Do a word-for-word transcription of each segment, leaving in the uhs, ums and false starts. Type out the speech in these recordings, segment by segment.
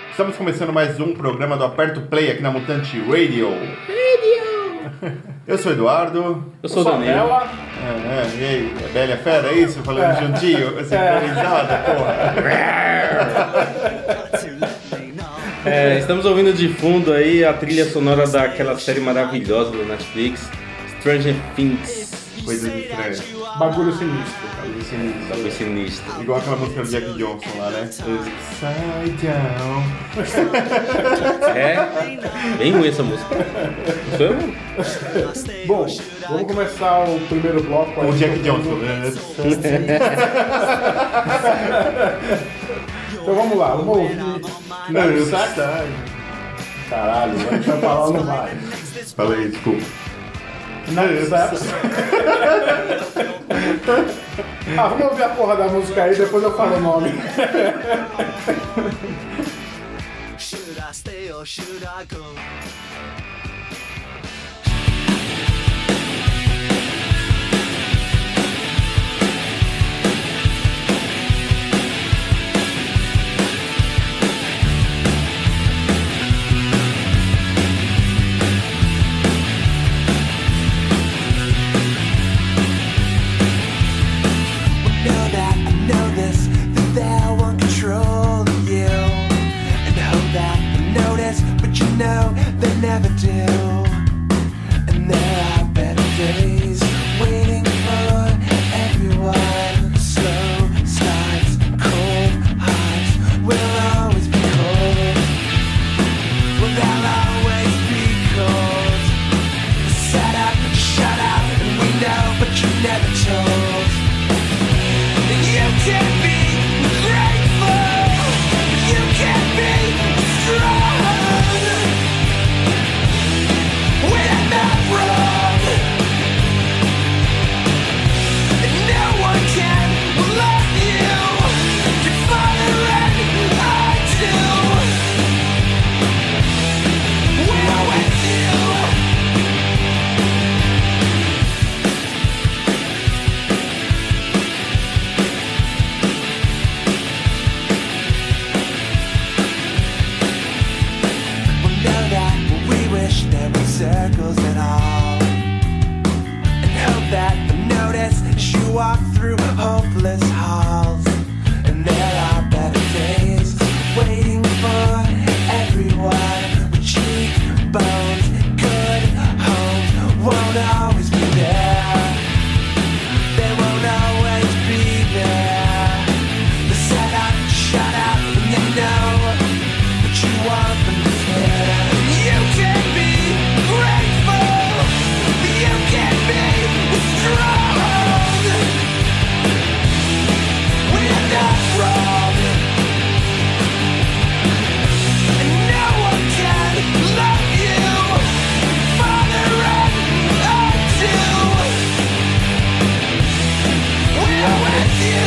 Estamos começando mais um programa do Aperto Play aqui na Mutante Radio. Radio! Eu sou o Eduardo. Eu sou o Daniel. É, é, e aí, é Bela Fera, é isso? Falando é. juntinho, sincronizado, porra. É, estamos ouvindo de fundo aí a trilha sonora daquela série maravilhosa do Netflix, Stranger Things. Coisas estranhas. Bagulho sinistro. Bagulho sinistro. Bagulho sinistro. Igual aquela música do Jack Johnson lá, né? Upside down. É, bem ruim essa música. Sou eu? Bom, vamos começar o primeiro bloco aí. O Jack Johnson. Então vamos lá, vamos ouvir. Caralho, a gente vai falar no vai. Fala aí, desculpa. Ah, vamos ouvir a porra da música aí, depois eu falo o nome. Should I stay or should I go? No, they never do. And there are better days waiting for everyone. Slow starts, cold hearts will always be cold. Well, they'll always be cold. Set up and shut up, and we know, but you never told. You can be grateful, you can be strong. Circles and all, and hope that the notice as you walk through hopeless halls. And there are better days waiting for everyone. With cheekbones, good homes won't always be there. They won't always be there. They set up, shut up, and you know, but you want them to care. You can be grateful, you can be strong. We're not wrong, and no one can love you. Father and unto, we're with you.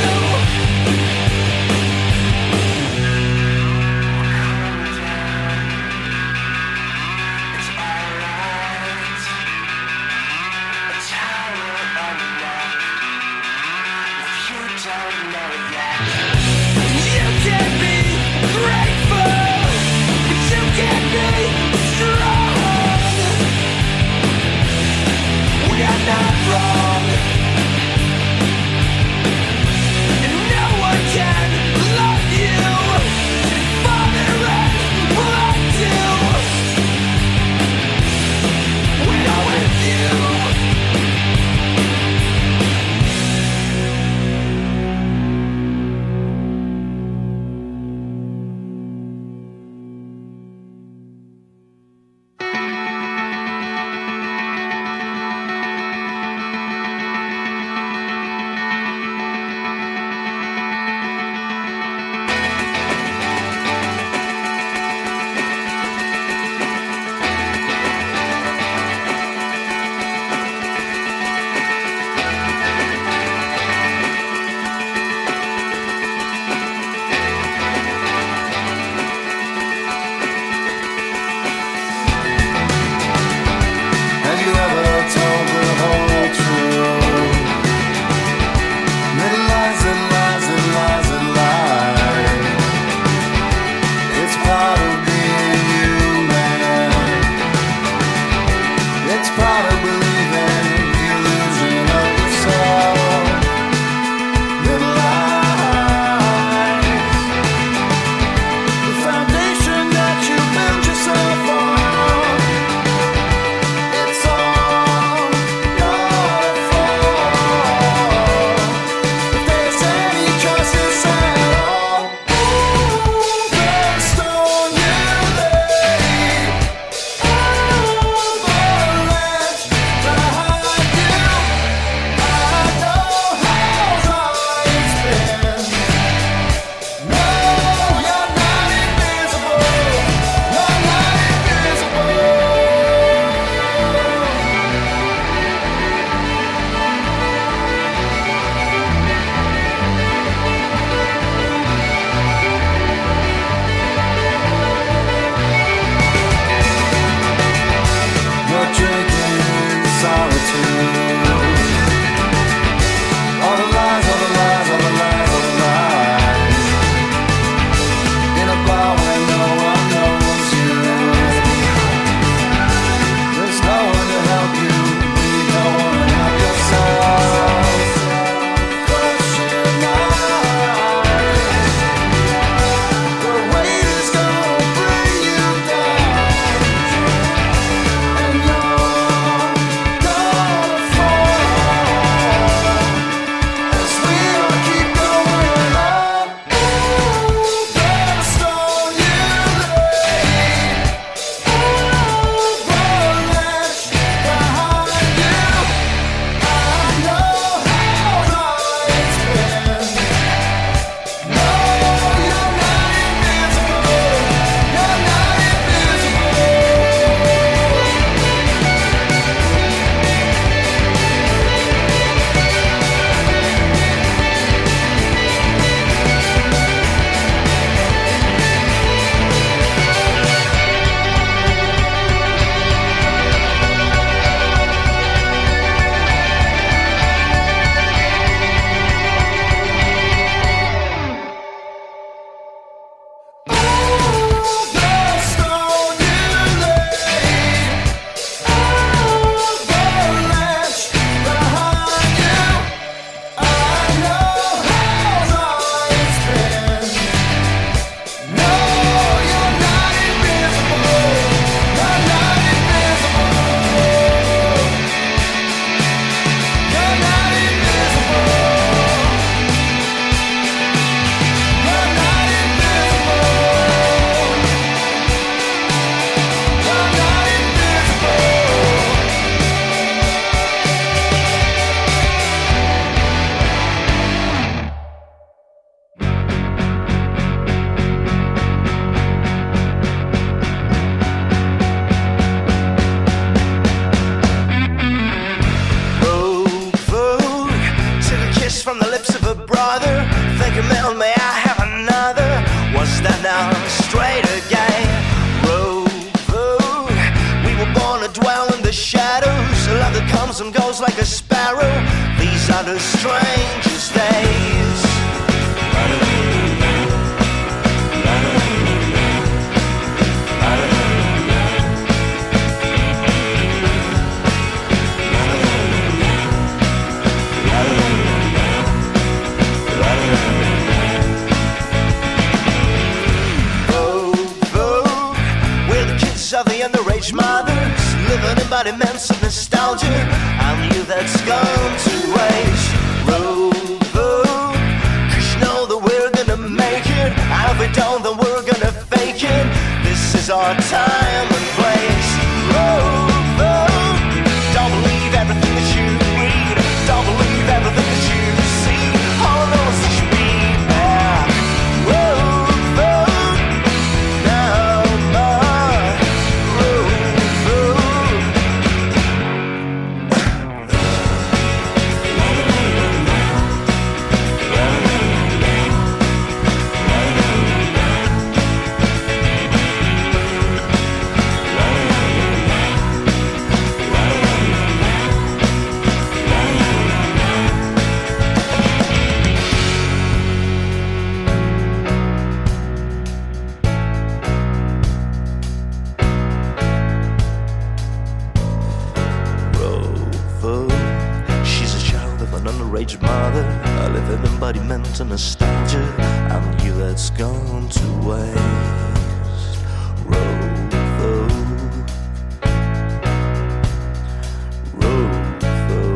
from the lips of a brother. Thinking, man, may I have another? Was that now straight again? Road, we were born to dwell in the shadows. A love that comes and goes like a sparrow. These are the strangest days. Of the underage mothers, living embodiments of nostalgia. I knew that's gone to waste. Rover, cause you know that we're gonna make it. And if we don't, then we're gonna fake it. This is our time and place. Rover, don't believe everything that you read. Don't believe everything that you see. All I know is that you'll be back. Rover, now my mother, I live in embodiment and nostalgia. I knew that's gone to waste. Rover, Rover,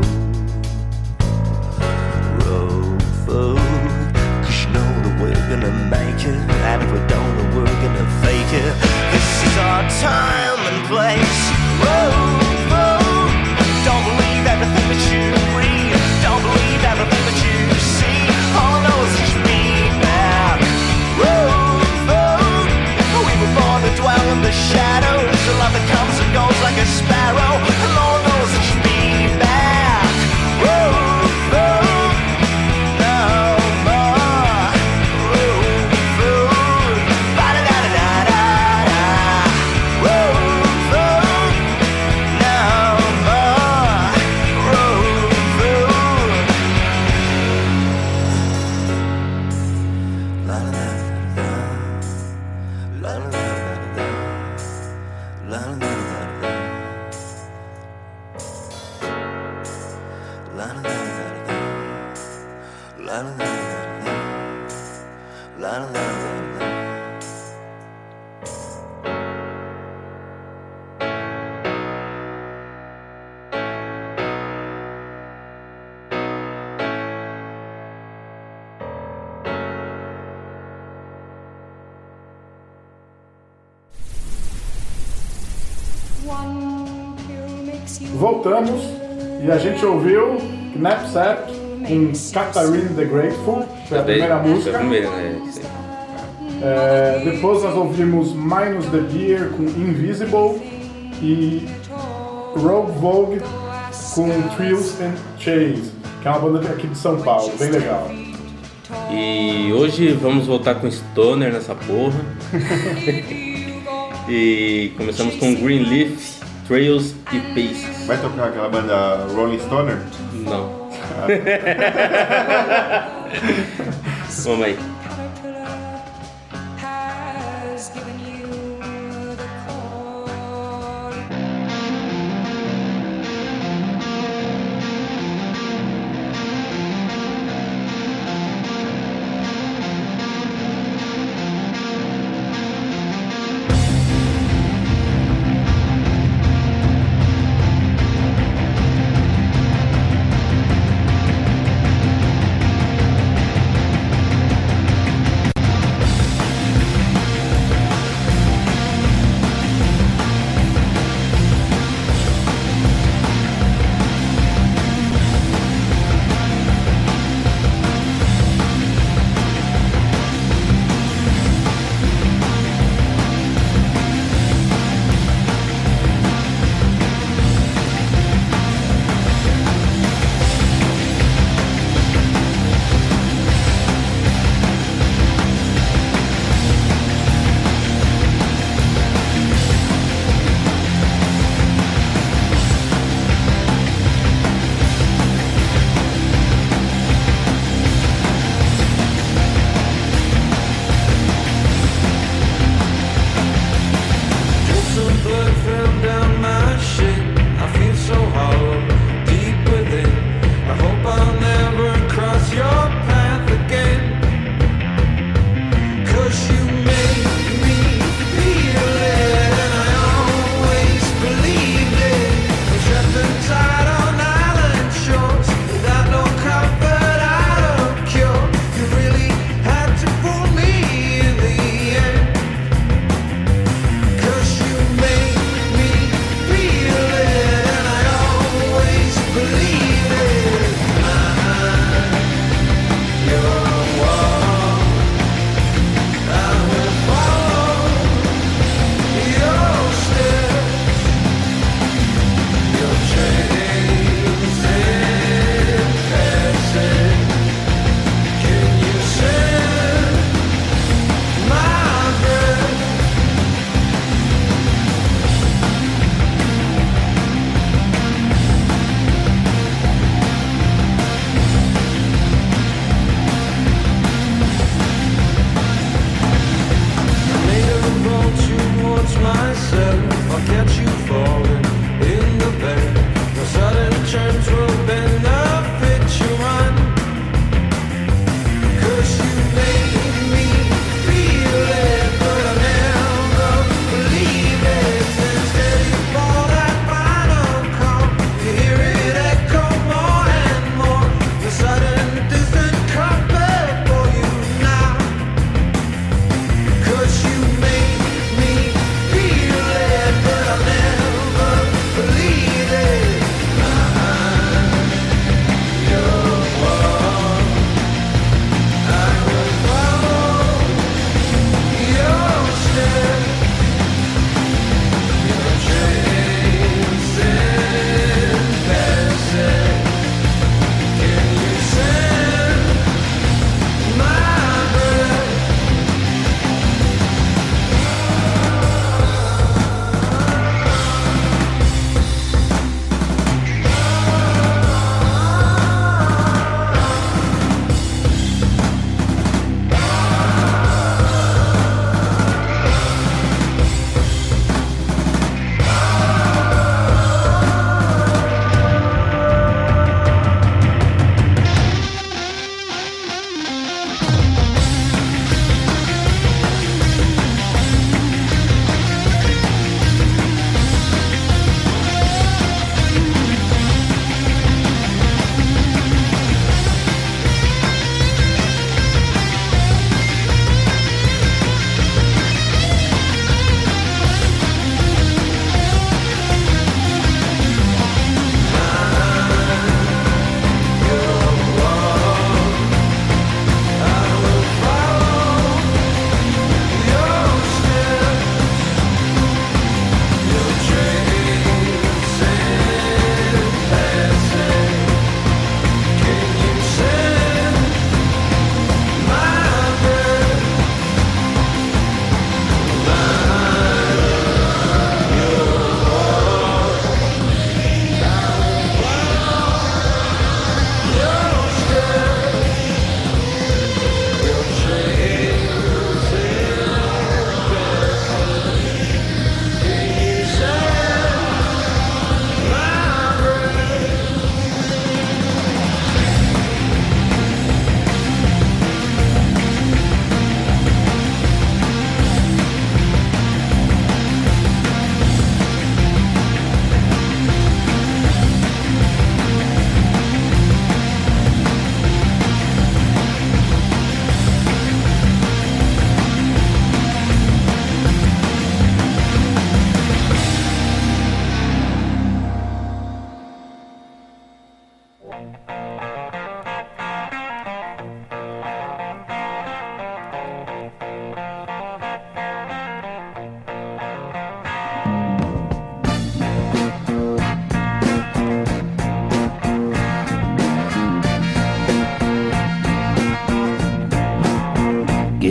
Rover, cause you know that we're gonna make it. And if we don't, then we're gonna fake it. This is our time and place. Rover, don't believe everything that you read. Don't believe everything that you see. All I know is that you'll be back. Rover, we were born to dwell in the shadows. A love that comes and goes like a sparrow. And all I know is that you'll be back. Rover, now my Rover, ba-da-da-da-da-da. Rover, now my Rover. La la la la la la la la la. Voltamos e a gente ouviu Knapsack com Catherine the Grateful, foi a primeira música. Foi a primeira, né? É, depois nós ouvimos Minus the Beer com Invisible e Rogue Vogue com Thrills and Chase, que é uma banda aqui de São Paulo, bem legal. E hoje vamos voltar com Stoner nessa porra. E começamos com Greenleaf, Trails e Paces. Vai tocar aquela banda Rolling Stoner? Não. Vamos aí. Rover,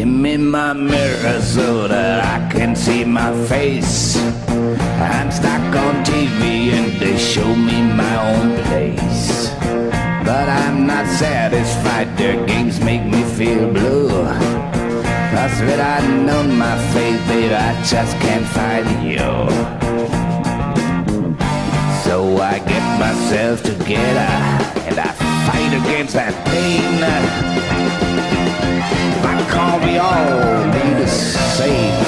Give me my mirror so that I can see my face. I'm stuck on T V and they show me my own place. But I'm not satisfied, their games make me feel blue. Cause without knowing my face, baby, I just can't find you. So I get myself together and I fight against that pain. Why can't we all be the same?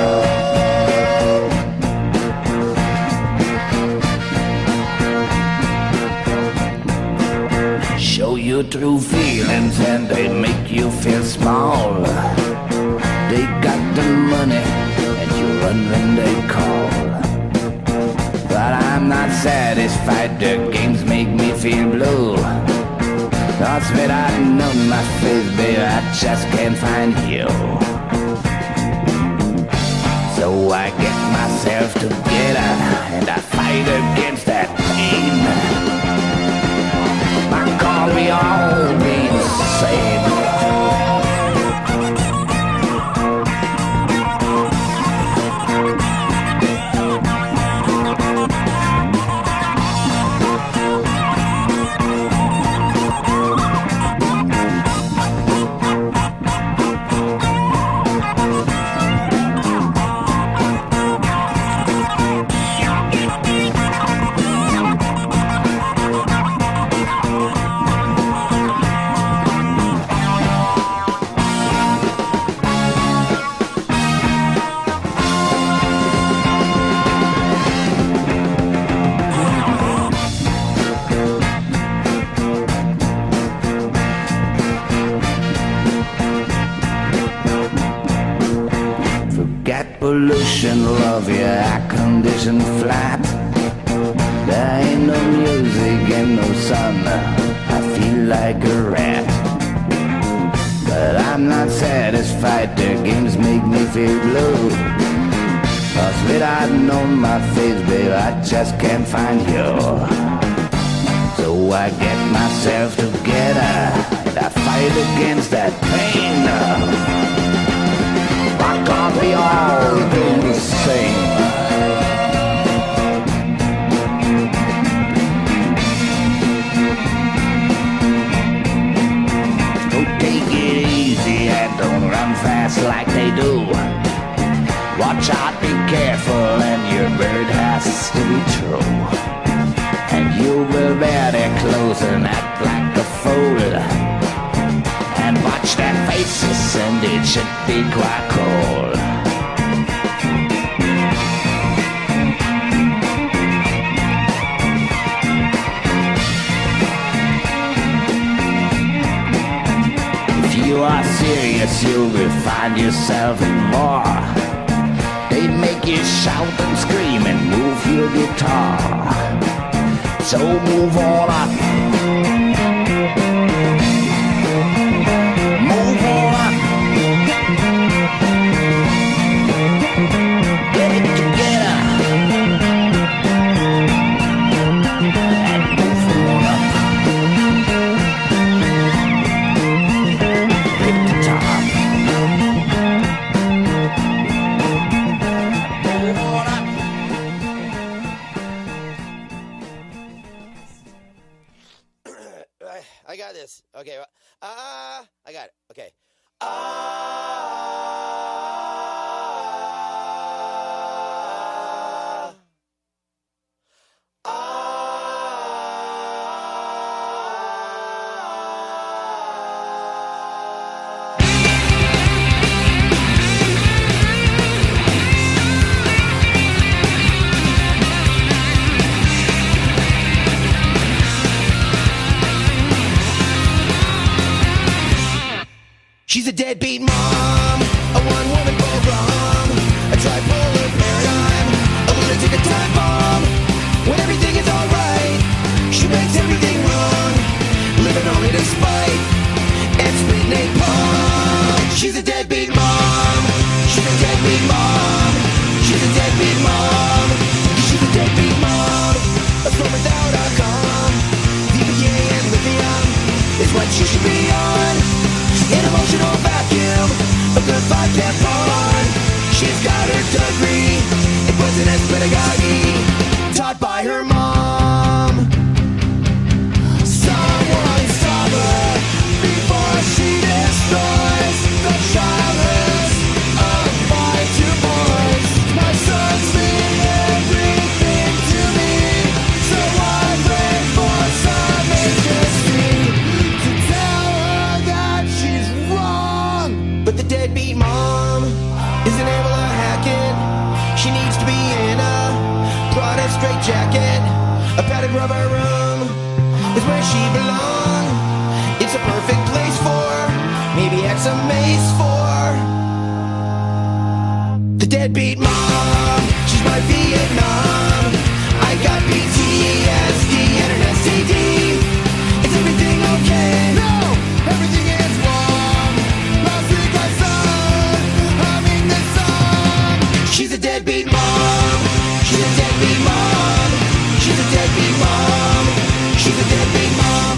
Show you true feelings and they make you feel small. They got the money and you run when they call. But I'm not satisfied, their games make me feel blue. Cause without knowing my face, baby, I just can't find you. So I get myself together and I fight against that pain. Why can't we all be the same? Pollution, love, yeah, air conditioned flat. There ain't no music and no sun. I feel like a rat. But I'm not satisfied, their games make me feel blue. Cause without knowing my face, babe, I just can't find you. So I get myself together and I fight against that pain. Why can't we all do the same? So take it easy and don't run fast like they do. Watch out, be careful, and your bird has to be true. And you will wear their clothes and act like a fool. And watch their faces and it should be quite cool. If you are serious, you will find yourself in more. They make you shout and scream and move your guitar. So move on up. I got this. Okay. Ah, uh, I got it. Okay. Ah. Uh, ah. She's a deadbeat mom, a one-woman program, a tripolar paradigm, a lunatic, a time bomb. When everything is alright, she makes everything wrong, living only to spite and spit napalm. She's a deadbeat mom, she's a deadbeat mom, she's a deadbeat mom, she's a deadbeat mom. A storm without a calm, V B A and lithium is what she should be on. An emotional vacuum, a good isn't able to hack it. She needs to be in a Prada straight jacket. A padded rubber room is where she belongs. It's a perfect place for maybe X a mace for the deadbeat mom. She's my Vietnam. I got P T S D and an S T D. Is everything okay? No, everything is wrong. Last week I saw humming this song. She's a deadbeat mom. She's a deadbeat mom. She's a deadbeat mom. She's a deadbeat mom.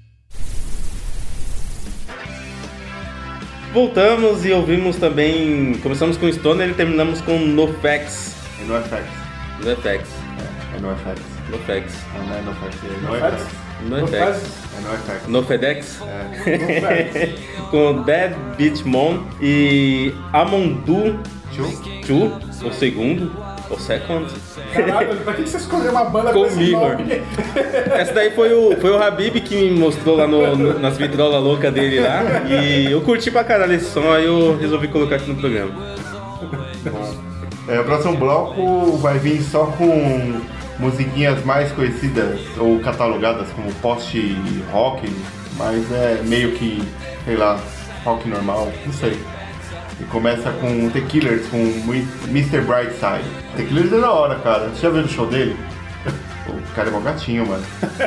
Voltamos e ouvimos também. Começamos com Stoner e terminamos com NoFX. É no F X. NoFX. É no F X. NoFX. Não, não é no F X. É no No F Feds? X. NoFX. É no F X. NoFedex. É. Com Dead Beat Mom e Amondu Tio? Chu, o segundo, o second. Caralho, pra que você escolheu uma banda com esse Comigo. nome? Essa daí foi o, foi o Habib que me mostrou lá no, no- nas vitrolas loucas dele lá. E eu curti pra caralho esse som, aí eu resolvi colocar aqui no programa. É, o próximo bloco vai vir só com musiquinhas mais conhecidas ou catalogadas como post-rock, mas é meio que, sei lá, rock normal, não sei. E começa com The Killers, com mister Brightside. The Killers é da hora, cara. Você já viu o show dele? O cara é mó gatinho, mano.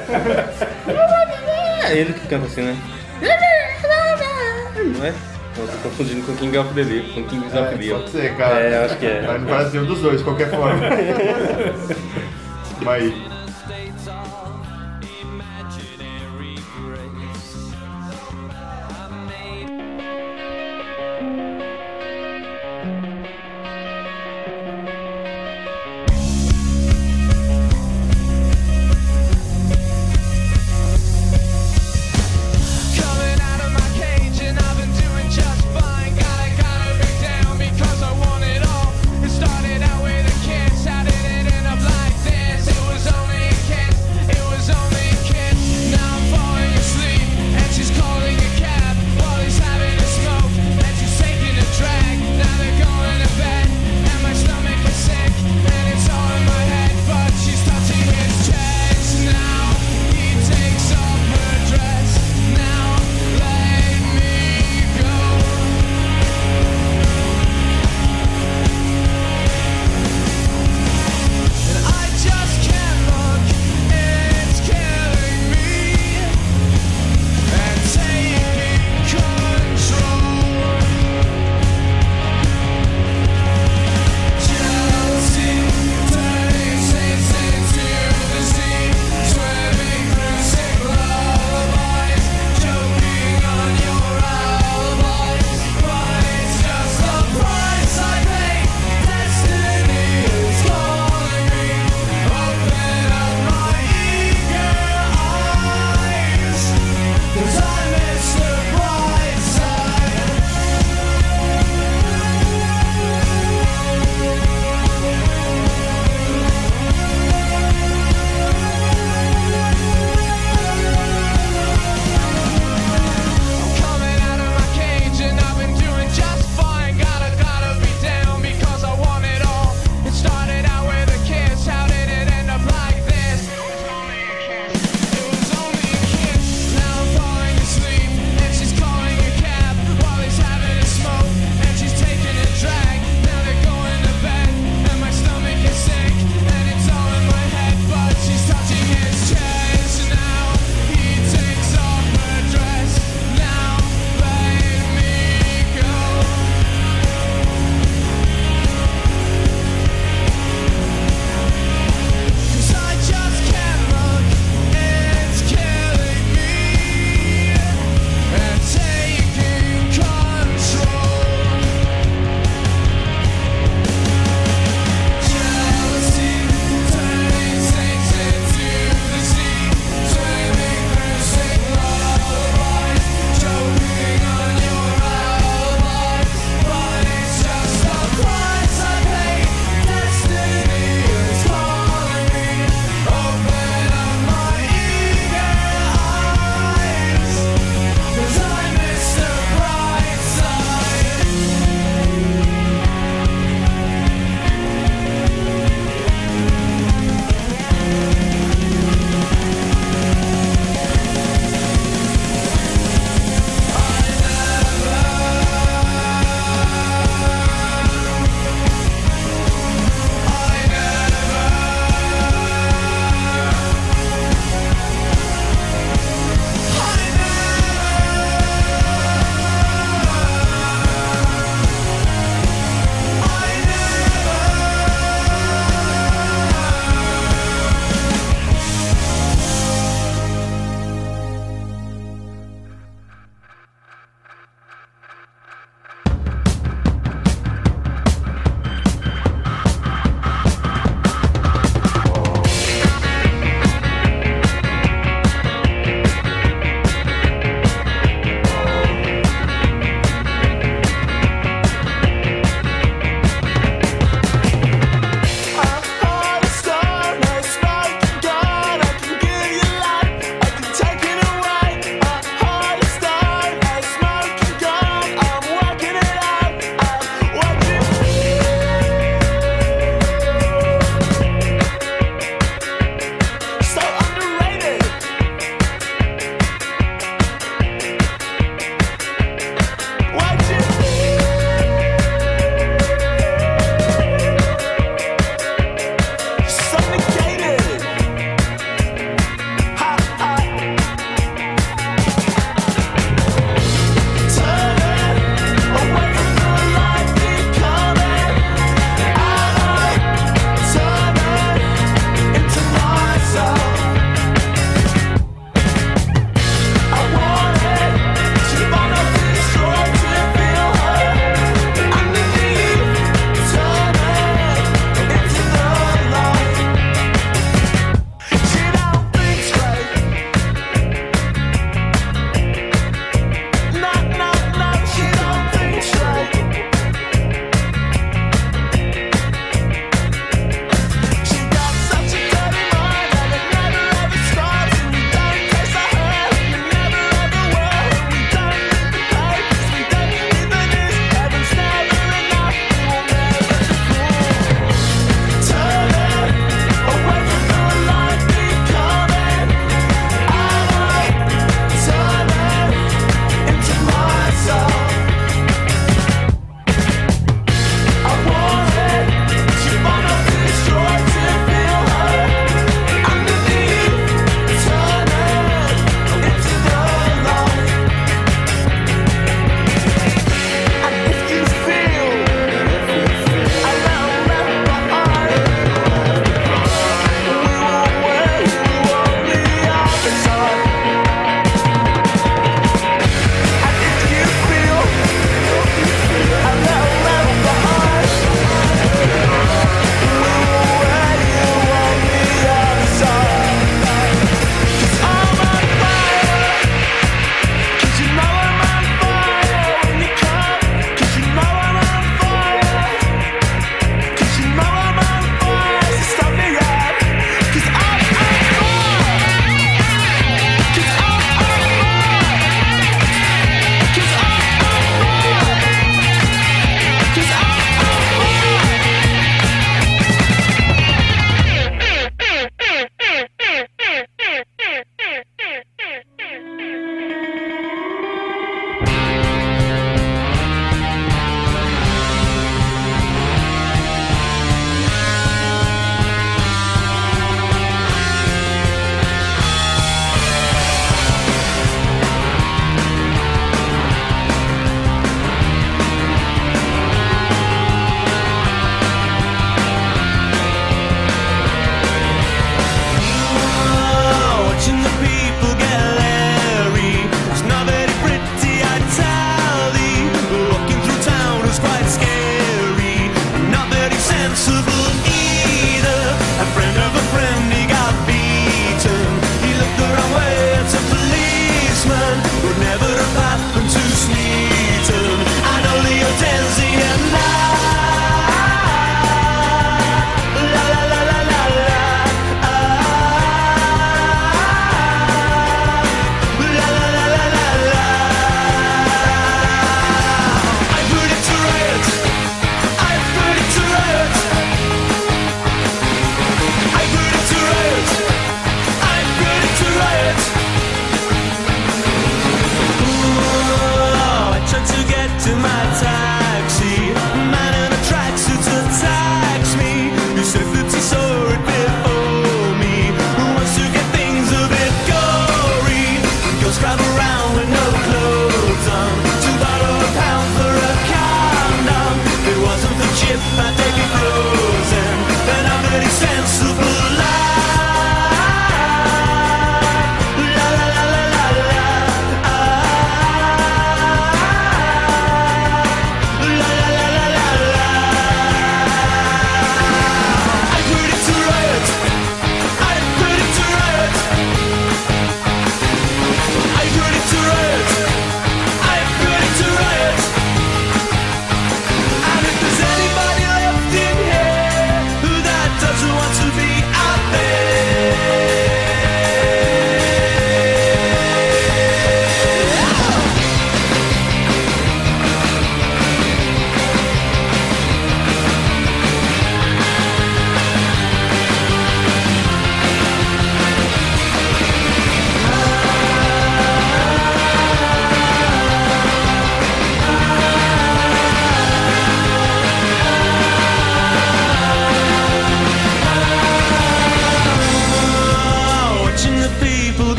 É ele que canta assim, né? Não é? Eu tô confundindo com King of the Leon, com Kings of É, Leon. pode ser, cara. É, acho que é. Mas não parece nenhum dos dois, de qualquer forma. Mas... Coming out of my cage and I've been doing just fine. Gotta gotta be down because I want it all. It started out with a kiss, how did it end up like this? It was only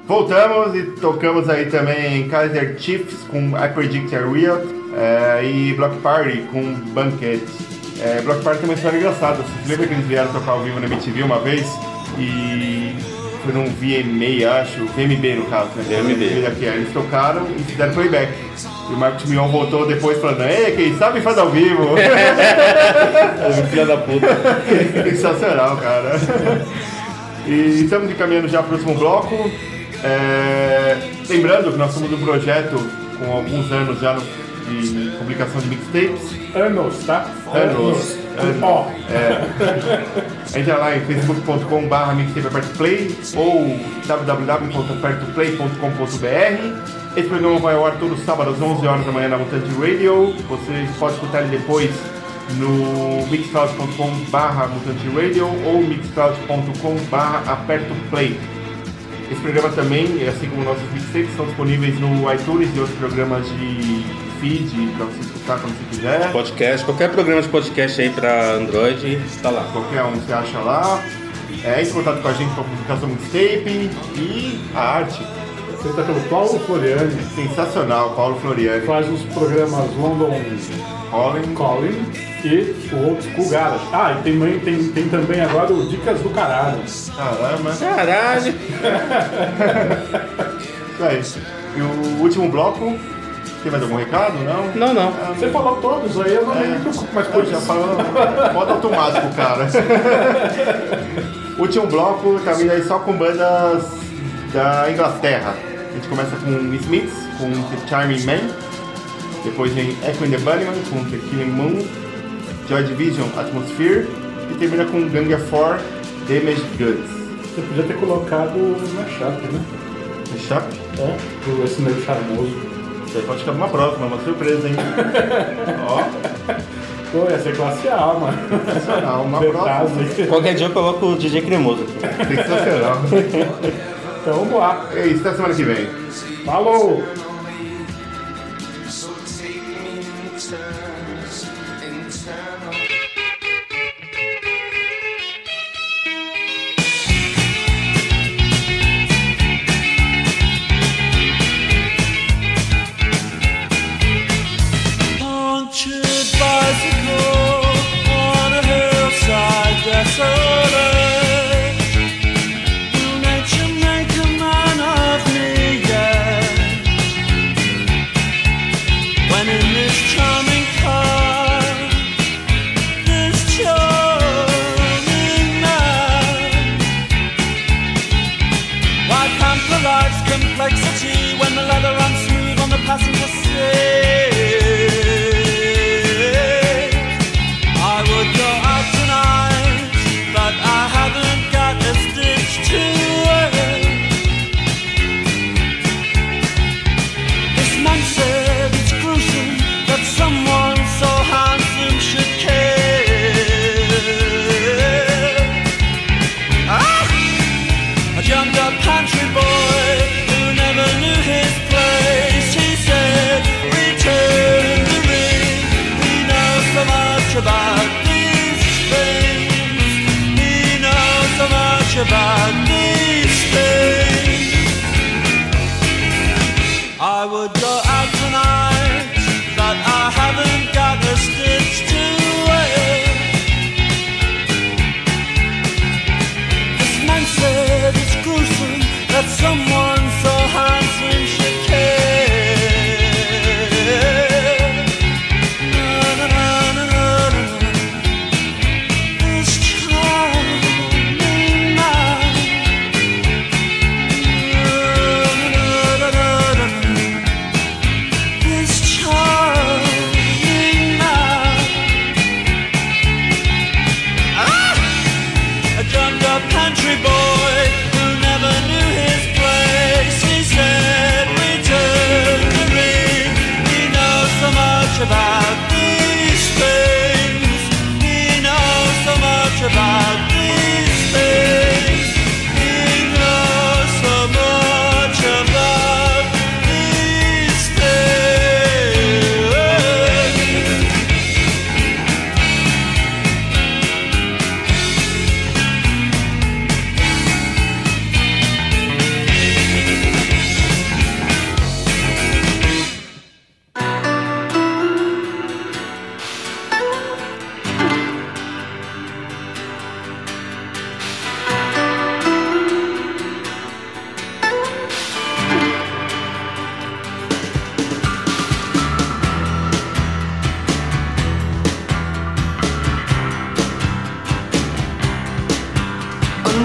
Voltamos e tocamos aí também Kaiser Chiefs com I Predict I Will é, e Block Party com Banquet. É, Block Party tem uma história engraçada. Você lembra que eles vieram tocar ao vivo na M T V uma vez? E foi num V M A, acho, V M B no caso, né? V M B. Aqui, aí eles tocaram e fizeram playback. E o Marcos Mion voltou depois falando, ei, quem sabe faz ao vivo. Filha da puta. Sensacional, cara. E estamos encaminhando já para o próximo bloco. É, lembrando que nós somos um projeto com alguns anos já no, de publicação de mixtapes. Anos, tá? Anos. Anos. Ó. É, entra lá em facebook ponto com barra mixtape aperto play ou w w w ponto aperto play ponto com ponto b r. Esse programa vai ao ar todo sábado às onze horas da manhã na Mutante Radio. Você pode escutar ele depois no mixcloud ponto com barra mutante radio ou mixcloud ponto com barra aperto play. Esse programa também, assim como nossos mixtapes, estão disponíveis no iTunes e outros programas de feed para você escutar quando você quiser. Podcast, qualquer programa de podcast aí para Android, está lá. Qualquer um você acha lá. É, entre em contato com a gente para a publicação do mixtape e a arte. Feita pelo Paulo Floriani. Sensacional, Paulo Floriani. Faz os programas London Calling. Calling e o Old School Garage. Ah, e tem, tem, tem também agora o Dicas do Caralho. Caramba. Caralho. Isso aí. E o último bloco, tem mais algum recado? Não? Não, não. Ah, Você falou todos, aí eu não É. me preocupo mais com Eu já isso. falo modo automático, cara. Último bloco, tá vindo aí só com bandas da Inglaterra. A gente começa com Smiths, com The Charming Man. Depois vem Echo and the Bunnymen, com The Killing Moon. Joy Division, Atmosphere. E termina com Gang of Four, Damaged Goods. Você podia ter colocado na chapa, né? É chato? É, por esse meio charmoso. Isso aí pode ficar uma próxima, uma surpresa, hein? Ó, Pô, ia ser classe A, mano. sensacional, uma Detrás próxima. aí. Qualquer dia eu coloco o D J Cremoso aqui. Sensacional. Então vamos lá. É isso, até semana que vem. Falou! So take me in turns, in turn. Punctured bicycle on a hillside desolate. Will nature make a man of me yet?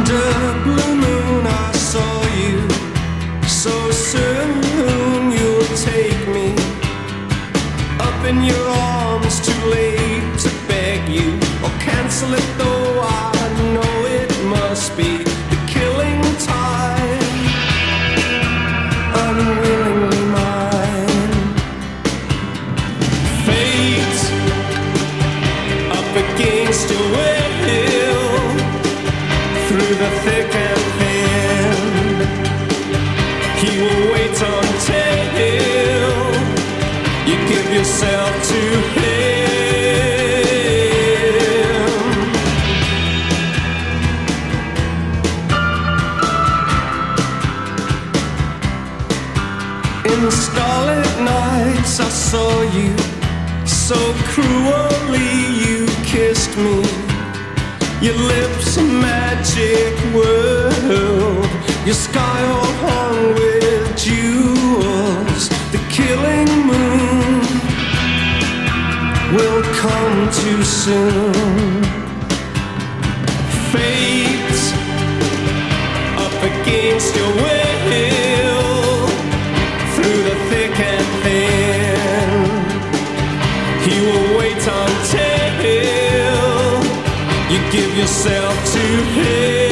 Under blue moon I saw you. So soon you'll take me up in your arms, too late to beg you or cancel it, though I know it must be the killing time. Unwillingly mine. Fate up against your will, through the thick and thin. He will wait until you give yourself to him. In the starlit nights I saw you, so cruelly you kissed me. Your lips a magic world, your sky all hung with jewels. The killing moon will come too soon. Fate up against your will, through the thick and thin. He will wait until you give yourself to him.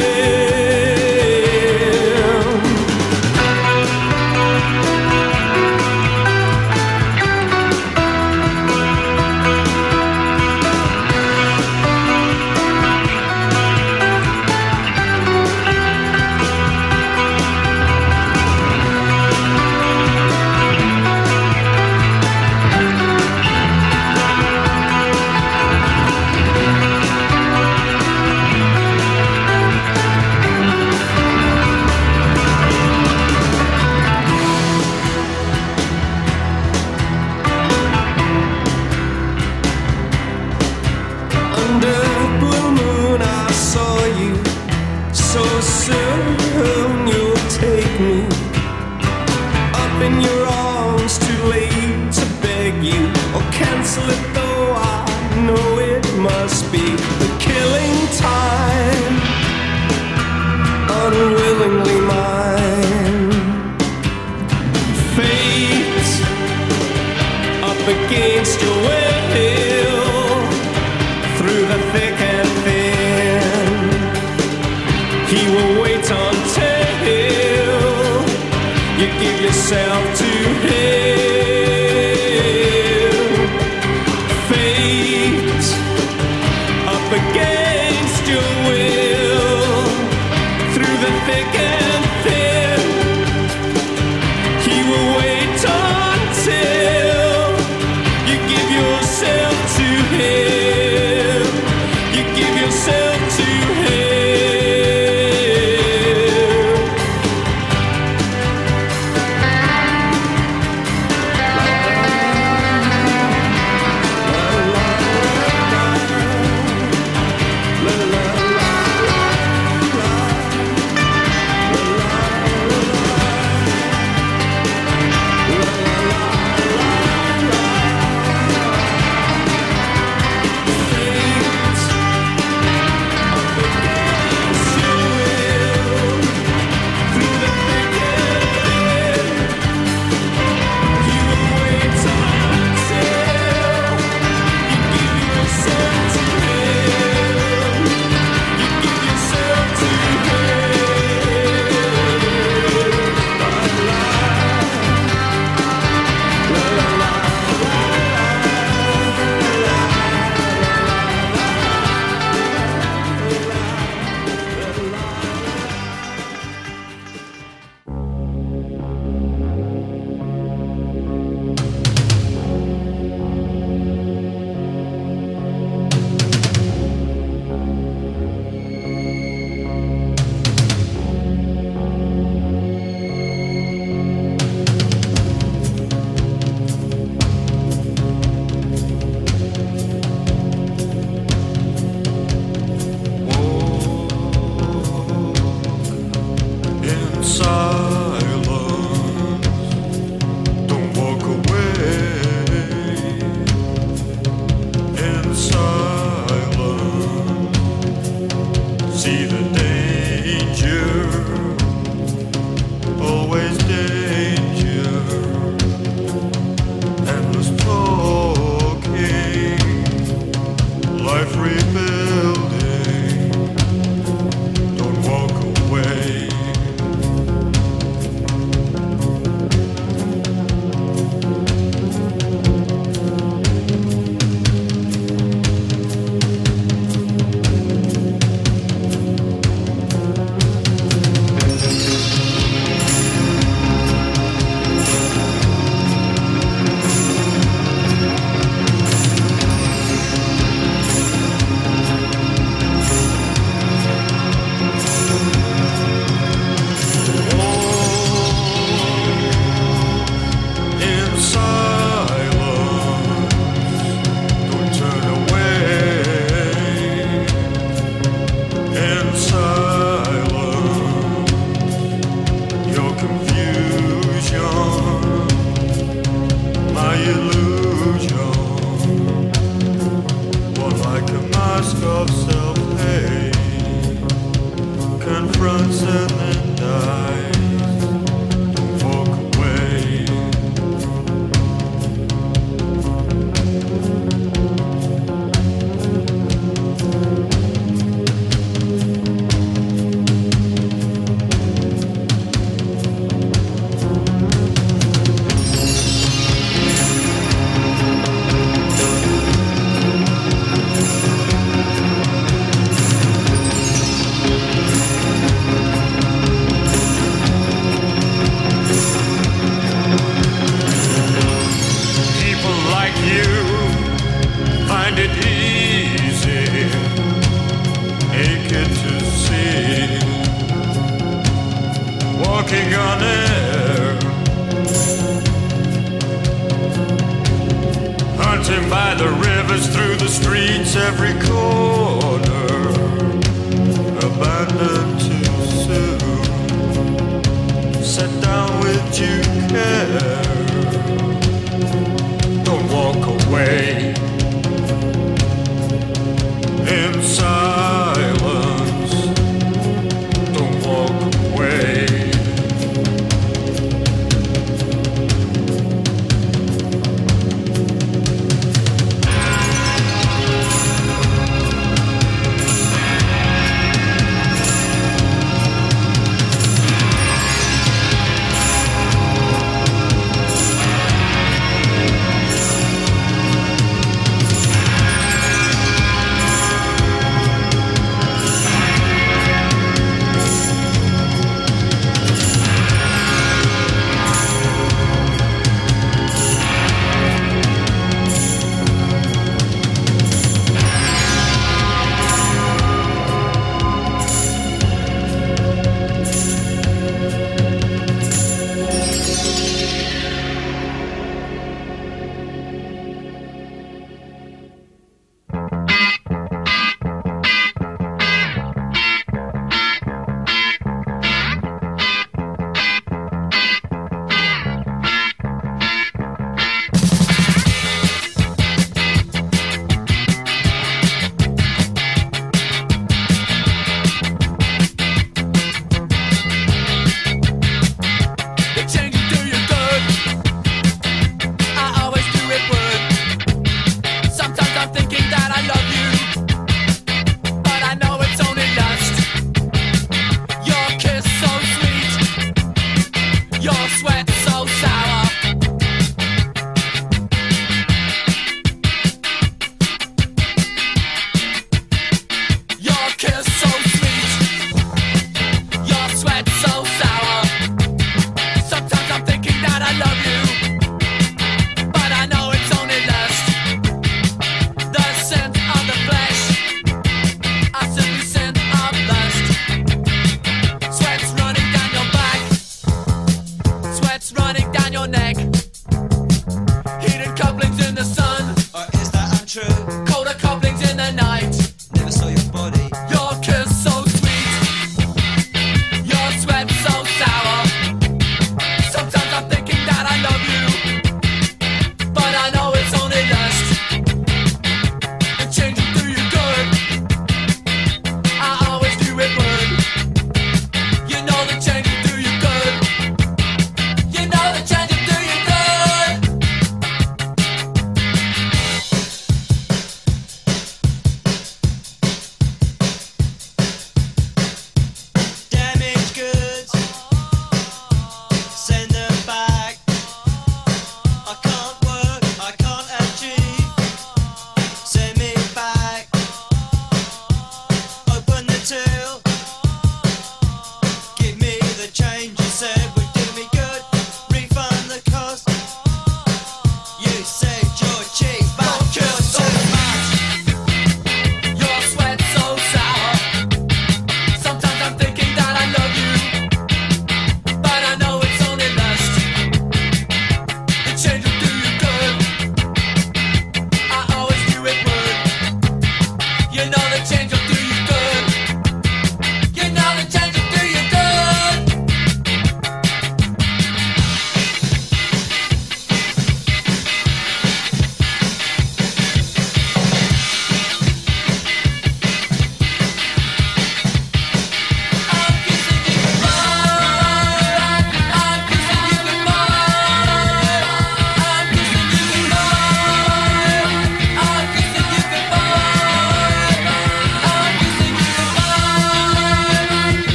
fronts and then die.